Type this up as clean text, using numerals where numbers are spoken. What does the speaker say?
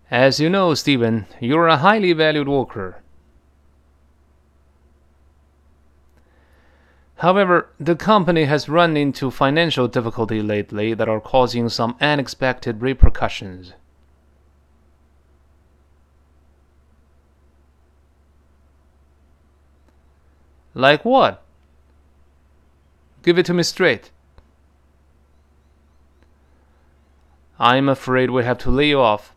As you know, Stephen, you're a highly valued worker. However, the company has run into financial difficulty lately that are causing some unexpected repercussions. Like what? Give it to me straight. I'm afraid we have to lay you off.